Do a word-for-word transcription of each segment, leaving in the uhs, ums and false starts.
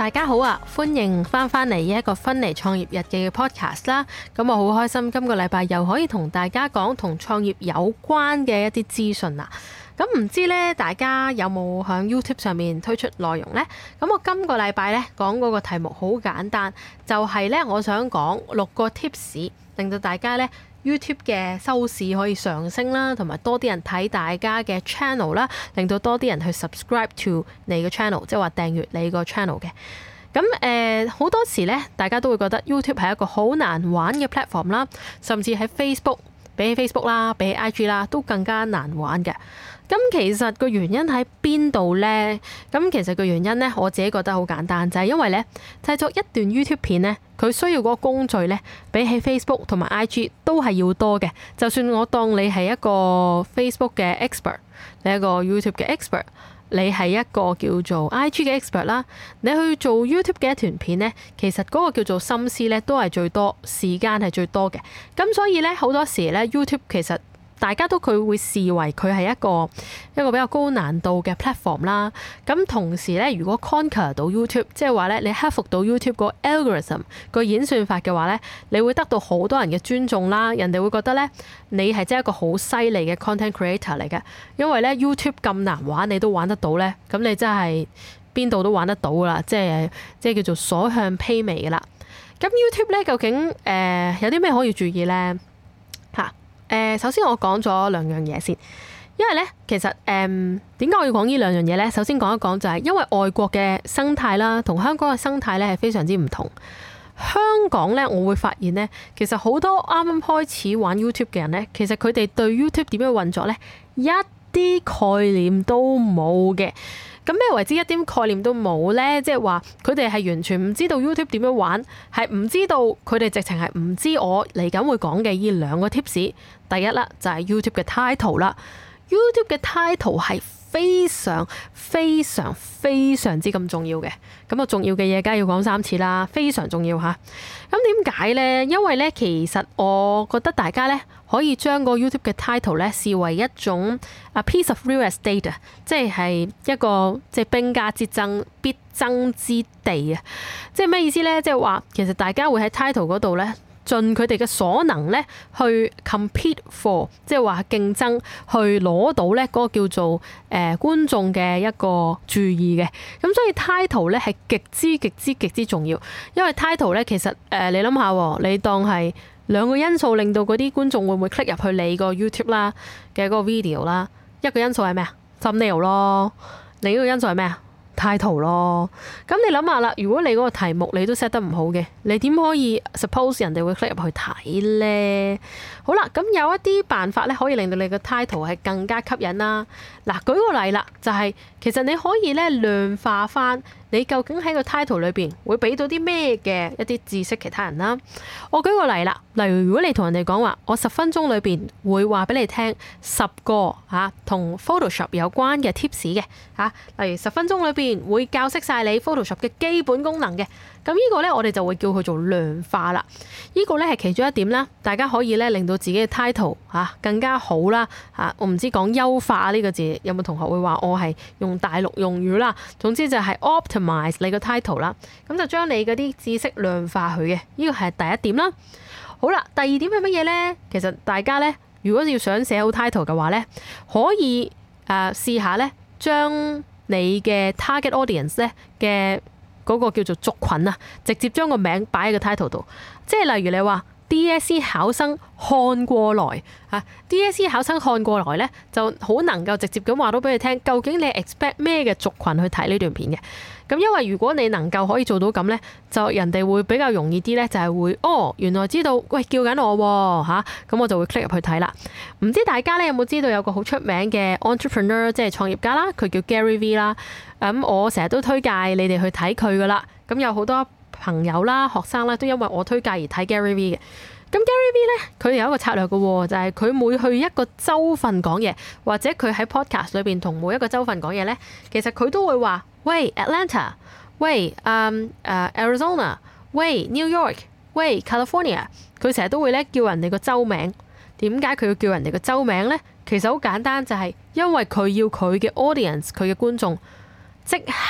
大家好啊，歡迎翻返嚟一個芬尼創業日記嘅 podcast 啦。咁我好開心，今個禮拜又可以同大家講同創業有關嘅一啲資訊啦。咁唔知咧，大家有冇喺 YouTube 上面推出內容呢？咁我今個禮拜咧講嗰個題目好簡單，就係咧我想講六個 tips，令到大家咧 YouTube 嘅收視可以上升啦，同埋多啲人睇大家嘅 channel 啦，令到多啲人去 subscribe to 你個 channel， 即係話訂閱你個 channel 嘅。咁誒好多時咧，大家都會覺得 YouTube 係一個好難玩嘅 platform 啦，甚至喺 Facebook 比起 Facebook 啦，比起 I G 啦，都更加難玩嘅。咁其實個原因喺邊度呢？咁其實個原因呢，我自己覺得好簡單，就係因為呢製作一段 YouTube 片呢，佢需要嗰個工序呢，比起 Facebook 同埋 I G 都係要多嘅。就算我當你係一個 Facebook 嘅 expert， 你係一個 YouTube 嘅 expert， 你係一個叫做 I G 嘅 expert 啦，你去做 YouTube 嘅一段片呢，其實嗰個叫做心思呢，都係最多，時間係最多嘅。咁所以呢，好多時呢 YouTube 其實大家都佢會視為佢係一個一個比較高難度嘅 platform 啦。咁同時咧，如果 conquer 到 YouTube， 即係話咧你克服到 YouTube 個 algorithm 個演算法嘅話咧，你會得到好多人嘅尊重啦。人哋會覺得咧你係真係一個好犀利嘅 content creator 嚟嘅。因為咧 YouTube 咁難玩，你都玩得到咧，咁你真係邊度都玩得到噶啦。即係即係叫做所向披靡噶啦。咁 YouTube 咧究竟誒、呃、有啲咩可以注意咧？嚇？誒，首先我講咗兩樣嘢先，因為咧其實誒點解我要講呢兩樣嘢咧？首先講一講就係因為外國嘅生態啦，同香港嘅生態咧係非常之唔同。香港咧，我會發現咧，其實好多啱啱開始玩 YouTube 嘅人咧，其實佢哋對 YouTube 點樣運作咧，一啲概念都冇嘅。咁咩為之一啲概念都冇呢？即係話佢哋係完全唔知道 YouTube 點樣玩，係唔知道佢哋直情係唔知我嚟緊會講嘅呢兩個 tips。第一啦，就係 YouTube 嘅 title 啦。YouTube 嘅 title 係非常非常非常之咁重要嘅。咁啊，重要嘅嘢梗係要講三次啦，非常重要嚇。咁點解呢？因為呢，其實我覺得大家呢，可以將個 YouTube 嘅 title 呢視為一種啊 piece of real estate 啊，即係一個即係兵家之爭必爭之地啊。即係咩意思呢？即係話其實大家會喺 title 嗰度呢，盡佢哋嘅所能咧，去 compete for， 即係話競爭，去攞到咧嗰個叫做誒、呃、觀眾嘅一個注意嘅。咁所以 title 咧係極之極之極之重要，因為 title 咧其實誒、呃、你諗下，你當係兩個因素令到嗰啲觀眾會唔會 click 入去你個 YouTube 啦嘅嗰個 video 啦。一個因素係咩啊？ thumbnail 咯。另一個因素係咩啊？title 咯。咁你諗下啦，如果你嗰個題目你都 set 得唔好嘅，你點可以 suppose 人哋會 click 入去睇呢？好啦，咁有一啲辦法咧，可以令到你個 title 係更加吸引啦。嗱，舉個例啦，就係、是、其實你可以咧量化翻你究竟喺個 title 裏邊會俾到啲咩嘅一啲知識其他人啦。我舉個例啦，例如如果你同人哋講話，我十分鐘裏邊會話俾你聽十個嚇同 Photoshop 有關嘅 tips 嘅嚇，例如十分鐘裏邊會教識晒你 Photoshop 嘅基本功能嘅。咁呢個咧，我哋就會叫佢做量化啦。呢個咧係其中一點啦，大家可以咧令到自己嘅 title 嚇更加好啦嚇。我唔知講優化呢個字有冇同學會話我係用大陸用語啦。總之就係 optimize 你個 title 啦，咁就將你嗰啲知識量化佢嘅。呢個係第一點啦。好啦，第二點係乜嘢咧？其實大家咧，如果要想寫好 title 嘅話咧，可以誒試下咧，將你嘅 target audience 咧嘅嗰個叫做族群啊，直接將個名擺喺個 title 度，即係例如你話 D S E 考生看過來啊 ，D S E 考生看過來咧，就好能夠直接咁話到俾你聽，究竟你 expect 咩嘅族群去睇呢段片嘅。咁因為如果你能夠可以做到咁咧，就人哋會比較容易啲咧，就係會哦，原來知道喂叫緊我喎嚇，咁我就會 click 入去睇啦。唔知大家咧有冇知道有個好出名嘅 entrepreneur， 即係創業家啦，佢叫 Gary V 啦。咁我成日都推介你哋去睇佢噶啦。咁有好多朋友啦、學生啦，都因為我推介而睇 Gary V 嘅。咁 Gary V 咧，佢有一個策略嘅喎，就係佢每去一個州份講嘢，或者佢喺 podcast 裏邊同每一個州份講嘢咧，其實佢都會話：喂 Atlanta， 喂誒誒 Arizona， 喂 New York， 喂 California。佢成日都會咧叫人哋個州名。點解佢要叫人哋個州名咧？其實好簡單，就係因為佢要佢嘅 audience，佢嘅觀眾即刻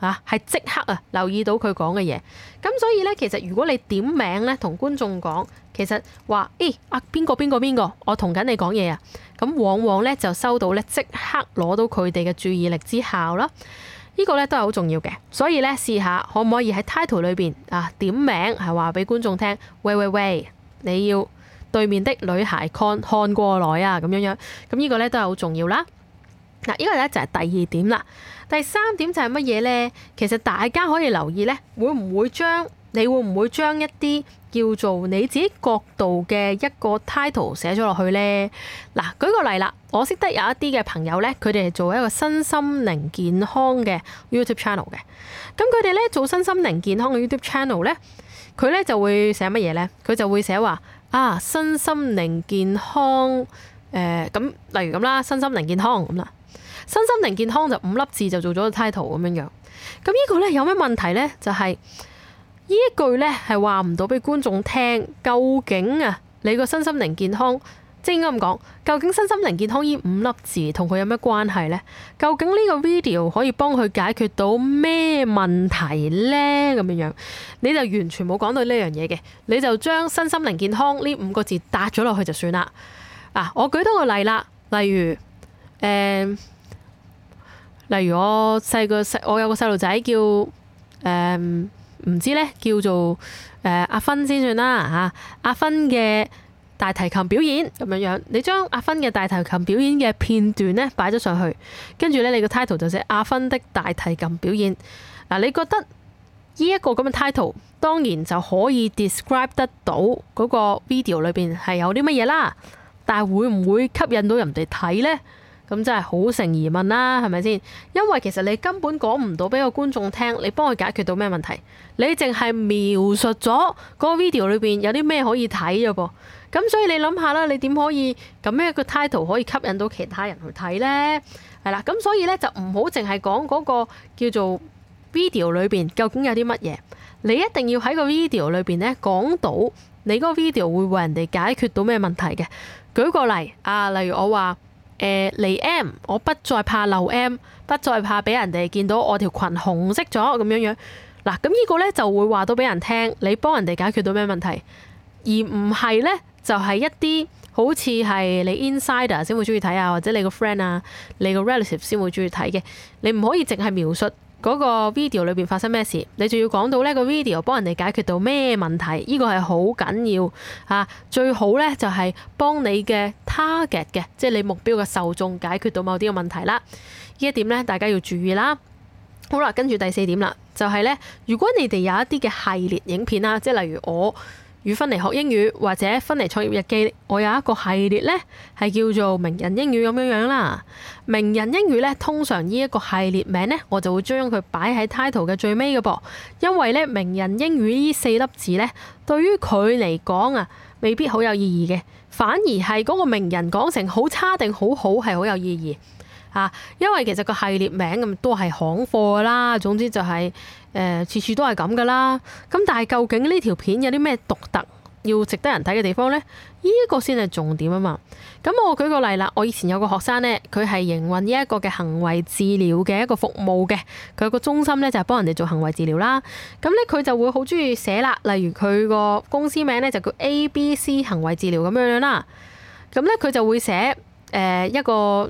嚇，係即刻啊留意到佢講嘅嘢。咁所以咧，其實如果你點名咧同觀眾講，其實話誒啊邊個邊個邊個，我同緊你講嘢啊，咁往往咧就收到咧即刻攞到佢哋嘅注意力之效啦。呢個咧都係好重要嘅，所以咧試下可唔可以喺 title 裏邊啊點名係話俾觀眾聽，喂喂喂，你要對面的女孩看看過來啊咁樣樣，咁呢個咧都係好重要啦。嗱，呢個咧就係第二點啦。第三點就係乜嘢咧？其實大家可以留意咧，會唔會將你會唔會將一啲叫做你自己角度嘅一個 title 寫咗落去咧？嗱，舉個例啦，我識得有一啲嘅朋友咧，佢哋係做一個身心靈健康嘅 YouTube channel 嘅。咁佢哋咧做身心靈健康嘅 YouTube channel 咧，佢咧就會寫乜嘢咧？佢就會寫話啊，身心靈健康誒咁、呃，例如咁啦，身心靈健康咁啦。身心靈健康就五粒字就做咗個 title 咁樣樣，咁呢個咧有咩問題咧？就係、是、呢一句咧係話唔到俾觀眾聽，究竟啊你個身心靈健康，即係應該咁講，究竟身心靈健康呢五粒字同佢有咩關係咧？究竟呢個 video 可以幫佢解決到咩問題咧？咁樣樣你就完全冇講到呢樣嘢嘅，你就將身心靈健康呢五個字搭咗落去就算啦。啊，我舉多個例啦，例如誒。呃例如我細個細，我有個細路仔叫誒唔、呃、知咧，叫做誒、呃、阿芬先算啦嚇。阿芬嘅大提琴表演咁樣樣，你將阿芬嘅大提琴表演嘅片段咧擺咗上去，跟住咧你個 title 就寫阿芬的大提琴表演。嗱，你覺得呢一個咁嘅 title 當然就可以 describe 得到嗰個 video 裏邊係有啲乜嘢啦，但係會唔會吸引到人哋睇咧？咁真係好成疑問啦，係咪先？因為其實你根本講唔到俾個觀眾聽，你幫佢解決到咩問題？你淨係描述咗嗰個 video 裏邊有啲咩可以睇啫噃。咁所以你諗下啦，你點可以咁樣一個 title 可以吸引到其他人去睇呢？係啦，咁所以咧就唔好淨係講嗰個叫做 video 裏邊究竟有啲乜嘢，你一定要喺個 video 裏邊咧講到你嗰個 video 會為人哋解決到咩問題嘅。舉個例啊，例如我話。誒嚟 M， 我不再怕漏 M， 不再怕俾人哋見到我條裙紅色咗咁樣樣。嗱，咁呢個咧就會話到俾人聽，你幫人哋解決到咩問題，而唔係咧就係一啲好似係你 insider 先會中意睇啊，或者你個 friend 啊、你個 relative 先會中意睇嘅。你唔可以淨係描述嗰個 video 裏邊發生咩事，你仲要講到呢個 video 幫人哋解決到咩問題，呢個係好緊要嚇。最好咧就係幫你嘅 target 嘅，即係你目標嘅受眾解決到某啲嘅問題啦。呢一點咧大家要注意啦。好啦，跟住第四點啦，就係咧，如果你哋有一啲嘅系列影片啦，即係例如我與芬妮學英語或者芬妮創業日記，我有一個系列咧係叫做名人英語咁樣樣啦。名人英語咧，通常呢一個系列名咧，我就會將佢擺喺 title 嘅最尾嘅噃，因為咧名人英語呢四粒字咧，對於佢嚟講啊，未必好有意義嘅，反而係嗰個名人講成好差定好好係好有意義。啊，因為其實個系列名咁都係行貨啦，總之就係誒次次都係咁噶啦。咁但係究竟呢條片有啲咩獨特要值得人睇嘅地方呢？呢一個先係重點啊嘛。咁我舉個例啦，我以前有個學生呢，佢係營運呢一個嘅行為治療嘅一個服務嘅，佢有個中心呢，就係幫人哋做行為治療啦。咁呢，佢就會好中意寫啦，例如佢個公司名呢，就叫 A B C 行為治療咁樣樣啦。咁呢，佢就會寫誒、呃、一個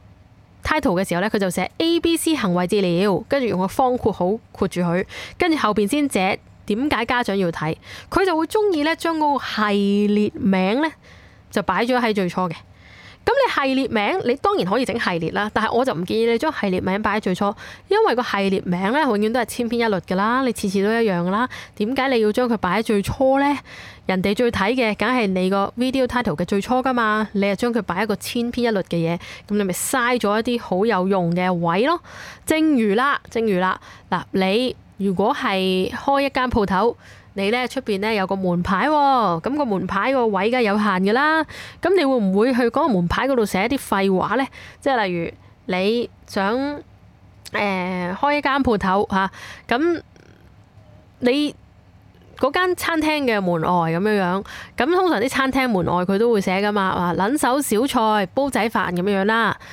title 嘅時候咧，佢就寫 A B C 行為治療，跟住用個方括號括住佢，跟住後邊先寫點解家長要睇。佢就會中意咧將嗰個系列名咧就擺咗喺最初嘅。咁你系列名你當然可以整系列啦，但係我就唔建議你將系列名擺喺最初，因為個系列名咧永遠都係千篇一律噶啦，你次次都一樣噶啦。點解你要將佢擺喺最初咧？人哋最睇嘅梗係你個 video title 嘅最初噶嘛，你又將佢擺一個千篇一律嘅嘢，咁你咪嘥咗一啲好有用嘅位咯。正如啦，正如啦，嗱，你如果係開一間鋪頭，你咧出邊咧有個門牌喎，咁個門牌個位梗係有限㗎啦。咁你會唔會去嗰個門牌嗰度寫一啲廢話咧？即係例如你想誒、呃、開一間鋪頭嚇，咁、啊、你嗰間餐廳嘅門外咁樣樣，咁通常啲餐廳門外佢都會寫㗎嘛，話撚手小菜煲仔飯咁樣樣啦。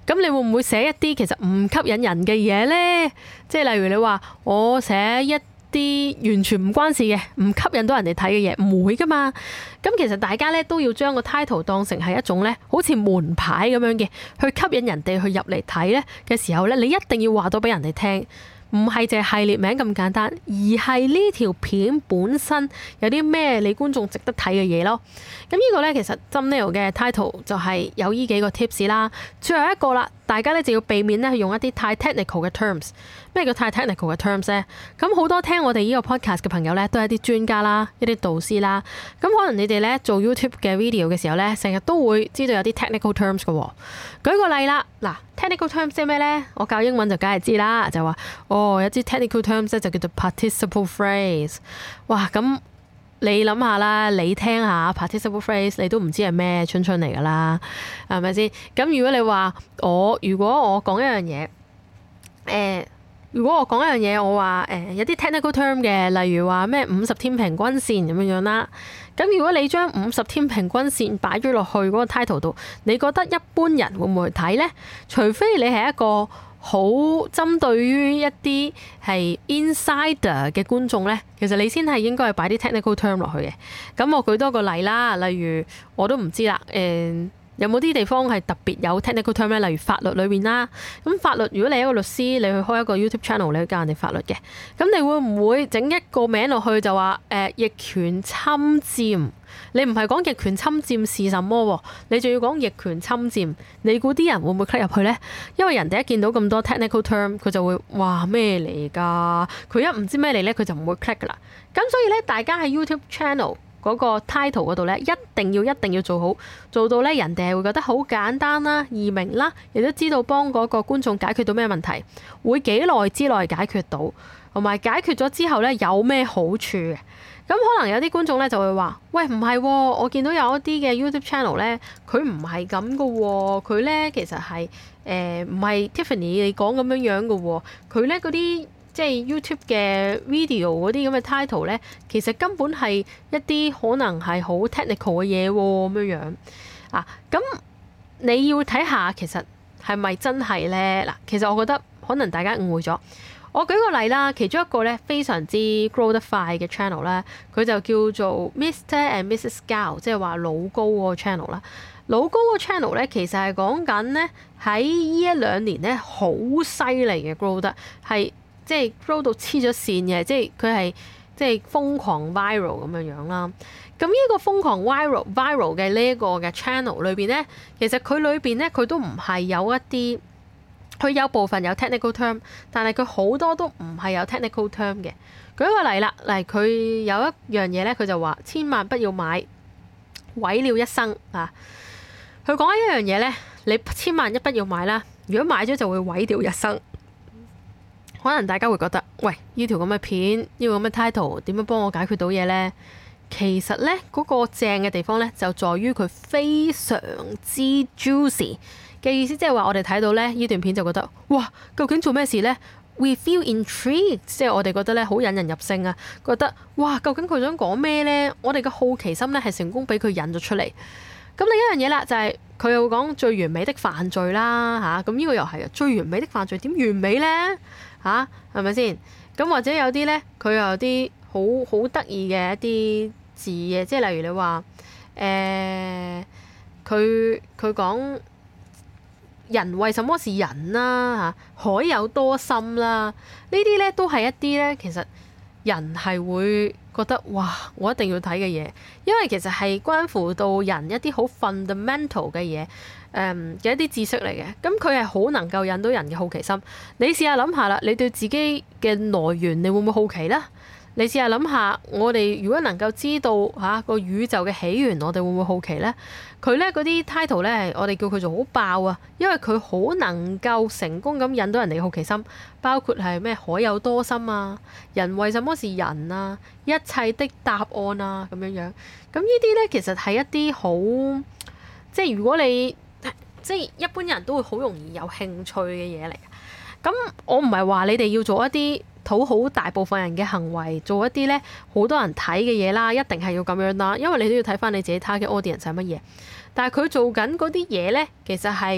咁你會唔會寫一啲其實唔吸引人嘅嘢呢？即係例如你話我寫一啲完全唔關事嘅，唔吸引到人哋睇嘅嘢，唔會噶嘛。咁其實大家咧都要將個 title 當成係一種咧，好似門牌咁樣嘅，去吸引人哋去入嚟睇咧嘅時候咧，你一定要話到俾人哋聽。唔係淨係系列名咁簡單，而係呢條片本身有啲咩你觀眾值得睇嘅嘢咯。咁呢個呢，其實 thumbnail 嘅 title 就係有呢幾個 tips 啦。最後一個啦，大家呢就要避免呢去用一啲太 technical 嘅 terms。咩叫太 technical 嘅 terms 呢？咁好多聽我哋呢個 podcast 嘅朋友呢，都係一啲專家啦，一啲導師啦。咁可能你哋呢做 YouTube 嘅 video 嘅時候呢，成日都會知道有啲 technical terms 嘅喎。舉個例啦，嗱 technical terms 即係咩呢？我教英文就梗係知啦，就話哦有啲 technical terms 咧就叫做 participle phrase。哇，咁你諗下啦，你聽下 participle phrase， 你都唔知係咩春春嚟噶啦，係咪先？咁如果你話我如果我講一樣嘢，誒、呃。如果我講一樣嘢，我話誒、呃、有啲 technical term 嘅，例如話咩五十天平均線咁樣樣啦。咁如果你將五十天平均線擺咗落去嗰個 title 度，你覺得一般人會唔會去睇呢？除非你係一個好針對於一啲係 insider 嘅觀眾呢，其實你先係應該係擺啲 technical term 落去嘅。咁我舉多個例啦，例如我都唔知啦，誒、呃。有冇啲地方係特別有 technical term 咧？例如法律裏邊啦，咁法律如果你係一個律師，你去開一個 YouTube channel，你去教人哋法律嘅，咁你會唔會整一個名落去就話誒、呃、逆權侵佔？你唔係講逆權侵佔是什麼喎？你仲要講逆權侵佔？你估啲人會唔會 click 入去呢？因為人哋一見到咁多 technical term，佢就會哇咩嚟㗎？佢一唔知咩嚟呢，佢就唔會 click 㗎啦。咁所以咧，大家喺 YouTube channel嗰個 title 嗰度咧，一定要一定要做好，做到咧人哋係會覺得好簡單啦、易明啦，亦都知道幫嗰個觀眾解決到咩問題，會幾耐之內解決到，同埋解決咗之後咧有咩好處嘅。咁可能有啲觀眾咧就會話：喂，唔係喎，我見到有一啲嘅 YouTube channel 咧，佢唔係咁噶喎，佢咧其實係誒唔係 Tiffany 你講咁樣樣噶喎，佢咧嗰啲。即係 YouTube 嘅 video 嗰啲咁嘅 title 咧，其實根本係一啲可能係好 technical 嘅嘢喎，咁樣樣啊。咁你要睇下其實係咪真係咧？嗱，其實我覺得可能大家誤會咗。我舉個例啦，其中一個咧非常之 grow 得快嘅 channel 咧，佢就叫做 Mister and Missus Gao，即係話老高嗰個 channel 啦。老高個 channel 咧，其實係講緊咧喺呢一兩年咧好犀利嘅 grow 得係。即係 grow 到黐咗線嘅，即係佢係即係瘋狂 viral 咁樣樣啦。咁呢個瘋狂 viral viral 嘅呢一個嘅 channel 裏邊咧，其實佢裏邊咧佢都唔係有一啲，佢有部分有 technical term，但係佢好多都唔係有 technical term 嘅。舉個例啦，嚟佢有一樣嘢咧，佢就話千萬不要買，毀了一生啊！佢講一樣嘢咧，你千萬一不要買啦，如果買咗就會毀掉一生。可能大家會覺得，喂，呢條咁嘅片，呢個咁嘅 title 點樣幫我解決到嘢呢？其實呢，嗰個正嘅地方呢，就在於佢非常之 juicy 嘅意思，即係話我哋睇到呢呢段片就覺得，哇，究竟做咩事呢？We feel intrigued，即係我哋覺得呢好引人入勝啊，覺得哇，究竟佢想講咩呢？我哋嘅好奇心呢係成功俾佢引咗出嚟。咁另一樣嘢啦，就係佢又會講最完美的犯罪啦，嚇，咁呢個又係啊，最完美的犯罪點完美呢？吓，係咪先？咁或者有啲咧，佢又有啲好好得意嘅一啲字嘅，即係例如你話誒，佢佢講人為什麼是人啦嚇，海有多深啦？呢啲咧都係一啲咧，其實人係會覺得哇，我一定要睇嘅嘢，因為其實係關乎到人一啲好 fundamental 嘅嘢。誒嘅、嗯、一啲知識嚟嘅，咁佢係好能夠引到人嘅好奇心。你試下諗下啦，你對自己嘅來源，你會唔會好奇呢？你試下諗下，我哋如果能夠知道嚇個、啊、宇宙嘅起源，我哋會唔會好奇呢？佢咧嗰啲 title 咧，我哋叫佢做好爆啊，因為佢好能夠成功咁引到人哋嘅好奇心，包括係咩海有多深啊，人為什麼是人啊，一切的答案啊咁樣樣。咁呢啲咧其實係一啲好，即係如果你即係一般人都會好容易有興趣嘅嘢嚟。咁我唔係話你哋要做一啲討好大部分人嘅行為，做一啲咧好多人睇嘅嘢啦，一定係要咁樣啦。因為你都要睇翻你自己 target audience係乜嘢。但係佢做緊嗰啲嘢咧，其實係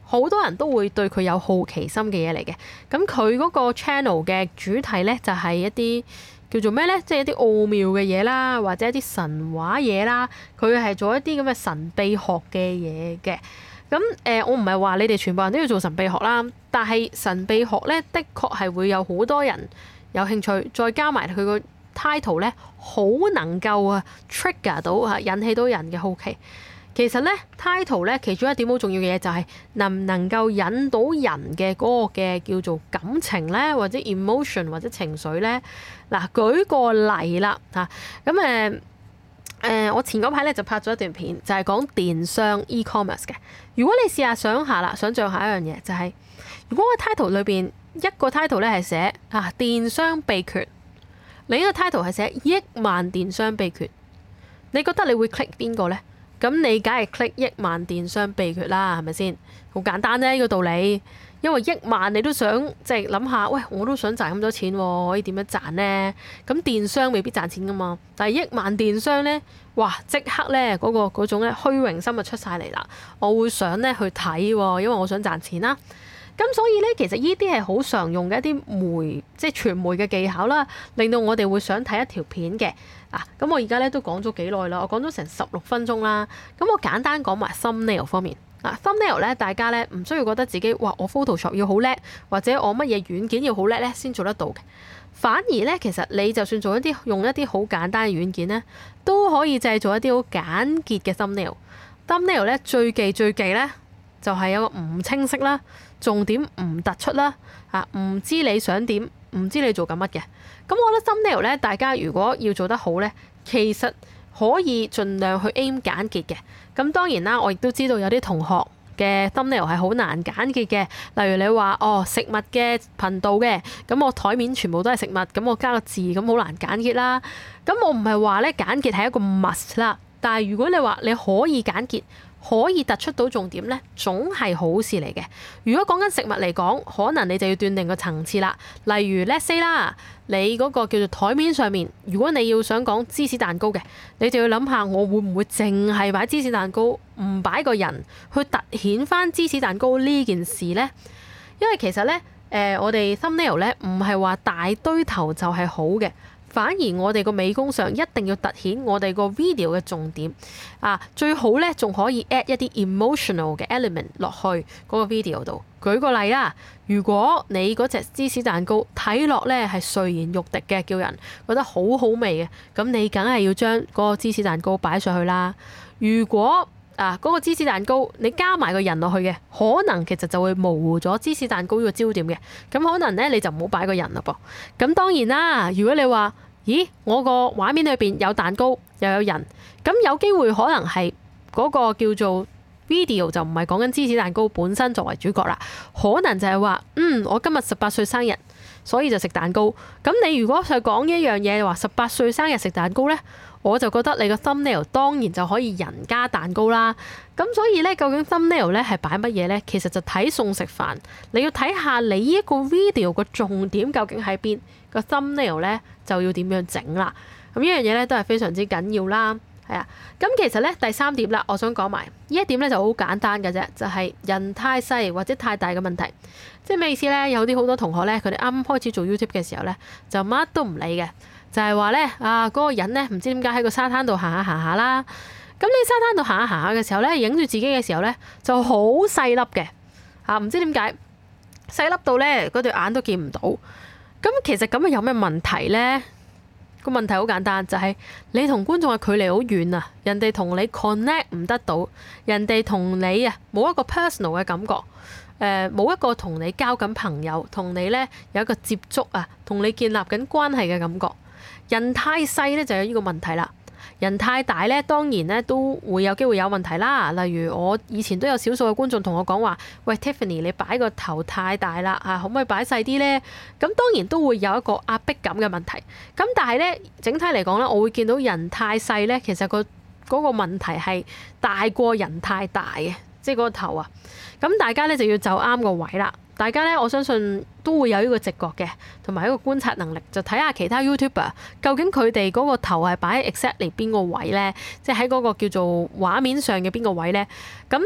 好多人都會對佢有好奇心嘅嘢嚟嘅。咁佢嗰個 channel 嘅主題咧就係一啲叫做咩咧，即係一啲奧妙嘅嘢啦，或者一啲神話嘢啦。佢係做一啲咁嘅神秘學嘅嘢嘅。咁誒、呃，我唔係話你哋全部人都要做神秘學啦，但係神秘學咧，的確係會有好多人有興趣，再加埋佢個 title 咧，好能夠啊 trigger 到啊，引起到人嘅好奇。其實咧 title 咧，其中一點好重要嘅嘢就係能唔能夠引到人嘅嗰個嘅叫做感情咧，或者 emotion 或者情緒咧。嗱，舉個例啦嚇，咁誒誒，我前嗰排咧就拍咗一段片，就係講電商 e-commerce 嘅。如果你試下想下啦，想像下一樣嘢，就係如果個 title 裏邊一個 title 咧係寫啊電商秘訣，另一個 title 係寫億萬電商秘訣，你覺得你會 click 邊個咧？咁你梗係 click 億萬電商秘訣啦，係咪先？好簡單啫，呢個道理。因為億萬你都想即係諗下，喂，我都想賺咁多錢喎，可以點樣賺呢？咁電商未必賺錢噶嘛，但係億萬電商呢，哇！即刻呢嗰個嗰種咧虛榮心就出晒嚟啦。我會想呢去睇喎，因為我想賺錢啦。咁所以呢，其實呢啲係好常用嘅一啲媒即係傳媒嘅技巧啦，令到我哋會想睇一條片嘅。啊，咁我而家咧都講咗幾耐啦，我講咗成十六分鐘啦。咁我簡單講埋 thumbnail 方面。啊 thumbnail 咧，大家咧唔需要覺得自己哇，我 Photoshop 要好叻，或者我乜嘢軟件要好叻咧先做得到嘅。反而咧，其實你就算做一啲用一啲好簡單嘅軟件咧，都可以製造一啲好簡潔嘅 thumbnail。thumbnail 咧最忌最忌咧就係有個唔清晰啦，重點唔突出啦，啊唔知你想點，唔知你做緊乜嘅。咁我覺得 thumbnail 咧，大家如果要做得好咧，其實可以盡量去 aim 簡潔嘅。咁當然啦，我亦都知道有啲同學嘅 thumbnail 係好難簡潔嘅。例如你話哦食物嘅頻道嘅，咁我台面全部都係食物，咁我加個字，咁好難簡潔啦。咁我唔係話咧簡潔係一個 must 啦，但係如果你話你可以簡潔，可以突出到重點咧，總係好事嚟嘅。如果講緊食物嚟講，可能你就要斷定個層次啦。例如 let's say 啦，你嗰個叫做台面上面，如果你要想講芝士蛋糕嘅，你就要諗下我會唔會淨係擺芝士蛋糕，唔擺個人去突顯翻芝士蛋糕呢件事咧？因為其實咧，誒、呃、我哋 thumbnail 咧唔係話大堆頭就係好嘅。反而我哋個美工上一定要突顯我哋個 video 嘅重點啊，最好咧仲可以 add 一啲 emotional 嘅 element 落去嗰個 video 度。舉個例啦，如果你嗰隻芝士蛋糕睇落咧係垂涎欲滴嘅，叫人覺得好好味嘅，咁你梗係要將嗰個芝士蛋糕擺上去啦。如果啊嗰個芝士蛋糕你加埋個人落去嘅，可能其實就會模糊咗芝士蛋糕呢個焦點嘅，咁可能咧你就唔好擺個人啦噃。咁當然啦，如果你話咦我個畫面裏邊有蛋糕又有人，咁有機會可能係嗰個叫做 video 就唔係講緊芝士蛋糕本身作為主角啦，可能就係話嗯我今日十八歲生日，所以就食蛋糕。咁你如果係講一樣嘢話十八歲生日食蛋糕呢，我就覺得你個 thumbnail 當然就可以人加蛋糕啦。咁所以呢，究竟 thumbnail 呢係擺乜嘢呢？其實就睇餸食飯，你要睇下你呢一個 video 個重點究竟喺邊，個 thumbnail 呢就要點樣整啦。咁呢樣嘢呢都係非常之緊要啦。係啊，咁其實呢，第三點啦，我想講埋呢一點呢就好簡單嘅啫，就係人太細或者太大嘅問題。即係咩意思呢？有啲好多同學呢，佢哋啱啱開始做 YouTube 嘅時候呢，就乜都唔理嘅。就係話咧，啊嗰個人咧唔知點解喺個沙灘度行下行下啦。咁你沙灘度行下行下嘅時候咧，影住自己嘅時候咧，就好細粒嘅嚇，唔知點解細粒到咧嗰對眼都見唔到。咁其實咁樣有咩問題咧？個問題好簡單，就係你同觀眾嘅距離好遠啊，人哋同你 connect 唔得到，人哋同你啊冇一個 personal 嘅感覺，誒冇一個同你交緊朋友，同你咧有一個接觸啊，同你建立緊關係嘅感覺。人太細咧就有呢個問題啦，人太大咧當然咧都會有機會有問題啦。例如我以前都有少數嘅觀眾同我講話，喂 Tiffany 你擺個頭太大啦嚇，可唔可以擺細啲咧？咁當然都會有一個壓迫感嘅問題。咁但係咧整體嚟講咧，我會見到人太細咧，其實個嗰個問題係大過人太大嘅，即係嗰個頭啊。咁大家咧就要就啱個位啦。大家咧，我相信都會有呢個直覺嘅，同埋一個觀察能力，就睇下其他 YouTuber 究竟佢哋嗰個頭係擺喺 exactly 邊個位咧，即係喺嗰個叫做畫面上嘅邊個位咧。咁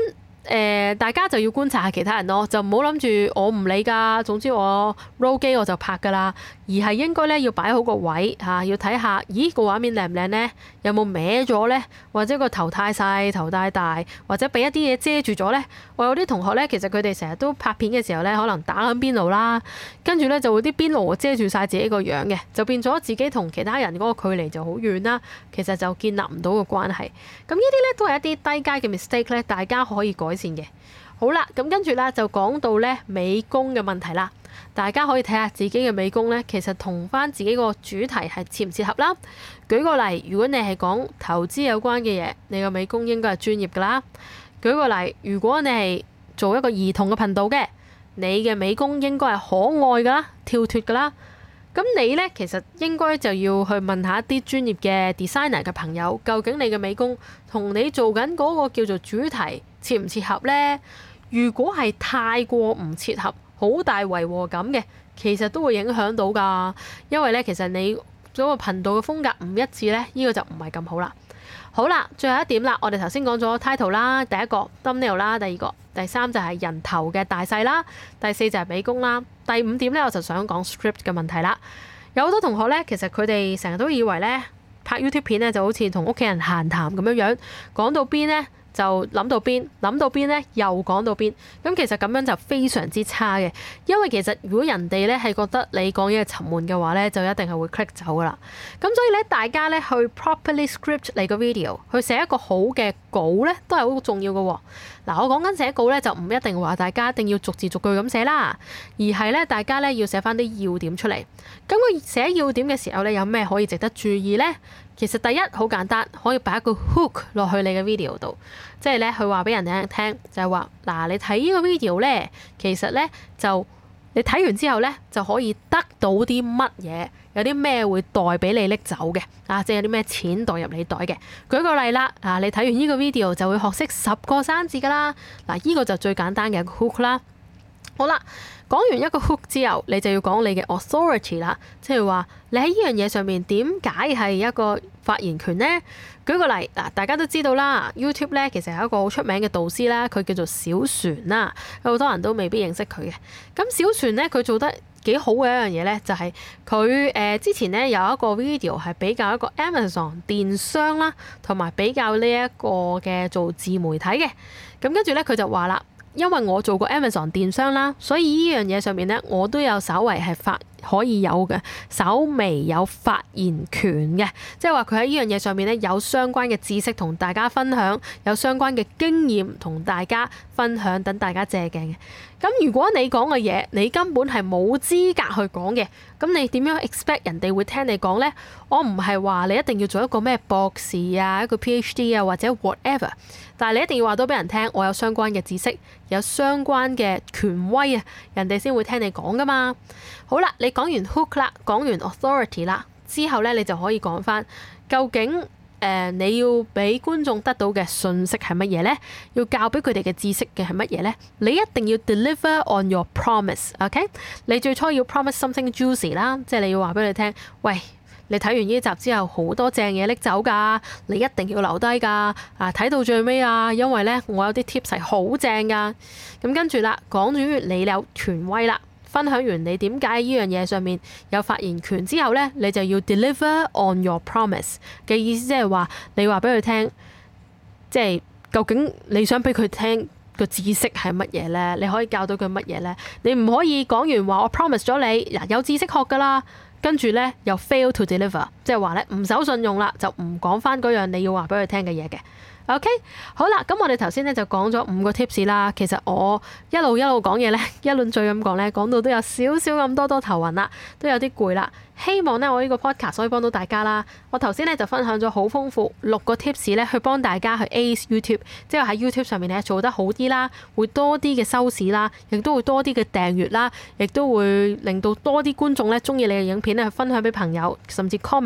誒、呃，大家就要觀察下其他人咯，就唔好諗住我唔理㗎，總之我 roll 機我就拍㗎啦。而係應該咧要擺好個位嚇、啊，要睇下，咦個畫面靚唔靚呢？有冇歪咗呢？或者個頭太細、頭太大，或者俾一啲嘢遮住咗呢？我有啲同學咧，其實佢哋成日都拍片嘅時候咧，可能打緊邊爐啦，跟住咧就會啲邊爐遮住晒自己個樣嘅，就變咗自己同其他人嗰個距離就好遠啦。其實就建立唔到個關係。咁呢啲咧都係一啲低階嘅 mistake 咧，大家可以改善嘅。好啦，咁跟住咧就講到咧美工嘅問題啦。大家可以睇下自己嘅美工咧，其實同翻自己個主題係切唔切合啦。舉個例，如果你係講投資有關嘅嘢，你個美工應該係專業噶啦。舉個例，如果你係做一個兒童嘅頻道嘅，你嘅美工應該係可愛噶啦、跳脫噶啦。咁你咧其實應該就要去問下一啲專業嘅 designer 嘅朋友，究竟你嘅美工同你做緊嗰個叫做主題切唔切合呢？如果係太過唔切合，好大違和感嘅，其實都會影響到㗎。因為咧，其實你嗰個頻道嘅風格唔一致咧，呢個就唔係咁好啦。好啦，最後一點啦，我哋頭先講咗 title 啦，第一個 thumbnail 啦，第二個、第三就係人頭嘅大細啦，第四就係美工啦，第五點咧我就想講 script 嘅問題啦。有好多同學咧，其實佢哋成日都以為咧拍 YouTube 片咧就好似同屋企人閒談咁樣樣，講到邊咧就諗到邊，諗到邊咧又講到邊。咁其實咁樣就非常之差嘅，因為其實如果人哋咧係覺得你講嘢係沉悶嘅話咧，就一定係會 click 走噶啦。咁所以咧，大家咧去 properly script 你個 video，去寫一個好嘅稿咧，都係好重要嘅喎。嗱，我講緊寫稿咧，就唔一定話大家一定要逐字逐句咁寫啦，而係咧大家咧要寫翻啲要點出嚟。咁佢寫要點嘅時候咧，有咩可以值得注意咧？其實第一好簡單，可以擺一個 hook 落去你嘅 video 度，即係咧佢話俾人哋聽，就係話嗱，你睇呢個 video 咧，其實咧就你睇完之後咧就可以得到啲乜嘢，有啲咩會袋俾你拎走嘅啊，即係有啲咩錢袋入你袋嘅。舉個例啦，啊，你睇完呢個 video 就會學識十個生字噶啦，嗱，呢個就最簡單嘅一個 hook 啦。好啦，講完一個 hook 之後，你就要講你嘅 authority 啦，即係話你喺呢樣嘢上面點解係一個發言權呢？舉個例，嗱，大家都知道啦 ，YouTube 咧其實係一個好出名嘅導師啦，佢叫做小船啦，有好多人都未必認識佢嘅。咁小船咧，佢做得幾好嘅一樣嘢咧，就係佢誒之前咧有一個 video 係比較一個 Amazon 電商啦，同埋比較呢一個嘅做自媒體嘅。咁跟住咧，佢就話啦。因為我做過 Amazon 電商啦，所以呢樣嘢上面咧，我都有稍為係發可以有嘅，稍微有發言權嘅，即係話佢喺呢樣嘢上面咧有相關嘅知識同大家分享，有相關嘅經驗同大家分享，等大家借鏡嘅。咁如果你講嘅嘢，你根本係冇資格去講嘅，咁你點樣 expect 人哋會聽你講呢？我唔係話你一定要做一個咩博士啊，一個 PhD 啊，或者 whatever，但係你一定要話到俾人聽，我有相關嘅知識，有相關嘅權威啊，人哋先會聽你講噶嘛。好啦，你講完 hook 啦，講完 authority 啦，之後咧你就可以講翻究竟誒、呃、你要俾觀眾得到嘅信息係乜嘢咧？要教俾佢哋嘅知識嘅係乜嘢咧？你一定要 deliver on your promise，OK？、Okay？ 你最初要 promise something juicy 啦，即係你要話俾佢哋聽，喂，你睇完呢集之後好多正嘢拎走㗎，你一定要留低㗎，啊睇到最尾啊，因為咧我有啲 tips 係好正㗎。咁跟住啦，講完你有權威啦。分享完你點解呢樣嘢上面有發言權之後呢，你就要 deliver on your promise 嘅意思，即係話你話俾佢聽，即係究竟你想俾佢聽個知識係乜嘢呢？你可以教到佢乜嘢呢？你唔可以講完話我 promise 咗你嗱有知識學㗎啦，跟住呢又 fail to deliver，即係話呢唔守信用啦，就唔講翻嗰樣你要話俾佢聽嘅嘢嘅。OK， 好啦，咁我哋頭先咧就講咗五個 tips 啦。其實我一路一路講嘢咧，一輪嘴咁講咧，講到都有少少咁多多頭暈啦，都有啲攰啦。希望咧我呢個 podcast 可以幫到大家啦。我頭先咧就分享咗好豐富六個 tips 咧，去幫大家去 ace YouTube，即係喺 YouTube 上面咧做得好啲啦，會多啲嘅收視啦，亦都會多啲嘅訂閱啦，亦都會令到多啲觀眾咧中意你嘅影片咧去分享俾朋友，甚至 comment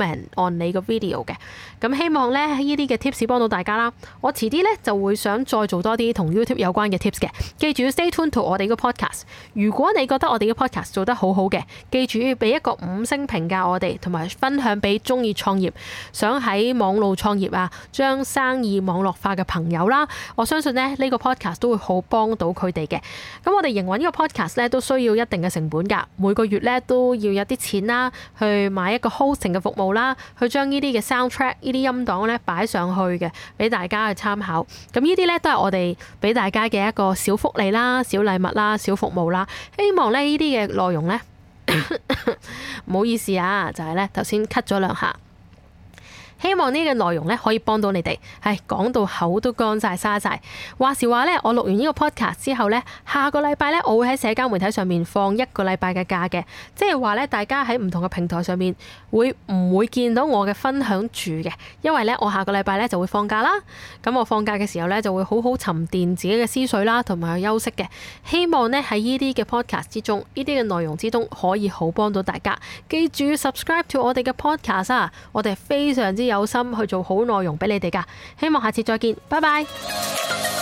comment on 你個 video 嘅。咁希望咧呢啲嘅 tips 幫到大家啦。我遲啲咧就會想再做多啲同 YouTube 有關嘅 tips 嘅。記住要 stay tuned to 我哋個 podcast。如果你覺得我哋嘅 podcast 做得好好嘅，記住要俾一個五星評價我哋，同埋分享俾中意創業、想喺網路創業啊、將生意網絡化嘅朋友啦。我相信咧呢個 podcast 都會好幫到佢哋嘅。咁我哋營運呢個 podcast 咧都需要一定嘅成本㗎，每個月咧都要有啲錢啦，去買一個 hosting 嘅服務啦，去將呢啲嘅 soundtrack 呢啲音檔咧擺上去嘅，俾大家去參考。咁呢啲咧都係我哋俾大家嘅一個小福利啦、小禮物啦、小服務啦。希望咧呢啲嘅內容咧，唔好意思啊，就係咧頭先咳咗兩下。希望呢個內容咧可以幫到你哋，係講到口都乾晒沙晒。話時話咧，我錄完呢個 podcast 之後咧，下個禮拜咧我會喺社交媒體上面放一個禮拜嘅假嘅，即係話咧大家喺唔同嘅平台上面會唔會見到我嘅分享住嘅？因為咧我下個禮拜咧就會放假啦。咁我放假嘅時候咧就會好好沉澱自己嘅思緒啦，同埋去休息嘅。希望咧喺呢啲嘅 podcast 之中，呢啲嘅內容之中可以好幫到大家。記住 subscribe to 我哋嘅 podcast 啊！我哋係非常之有心去做好內容俾你哋㗎，希望下次再見，拜拜。